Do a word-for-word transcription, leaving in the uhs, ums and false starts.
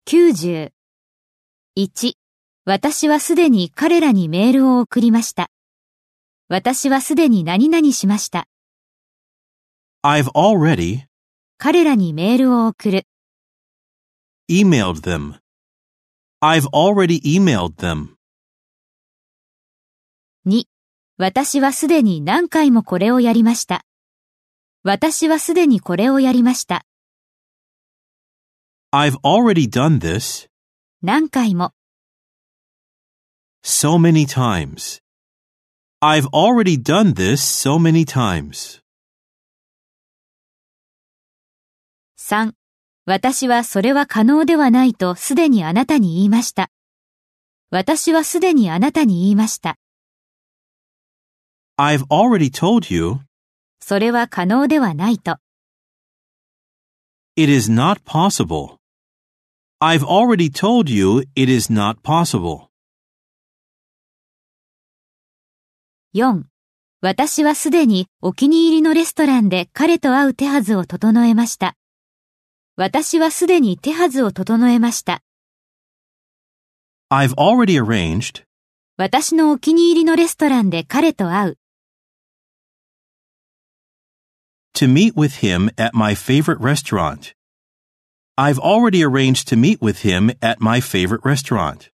きゅうじゅう。いち、私はすでに彼らにメールを送りました。私はすでに何々しました。 I've already 彼らにメールを送る。 emailed them. I've already emailed them. に、私はすでに何回もこれをやりました。私はすでにこれをやりました。 I've already done this 何回も。 so many times. I've already done this so many times. さん、私はそれは可能ではないとすでにあなたに言いました。私はすでにあなたに言いました。 I've already told you それは可能ではないと。 it is not possible. I've already told you it is not possible. よん、私はすでにお気に入りのレストランで彼と会う手はずを整えました。私はすでに手はずを整えました。 I've already arranged 私のお気に入りのレストランで彼と会う。 to meet with him at my favorite restaurant. I've already arranged to meet with him at my favorite restaurant.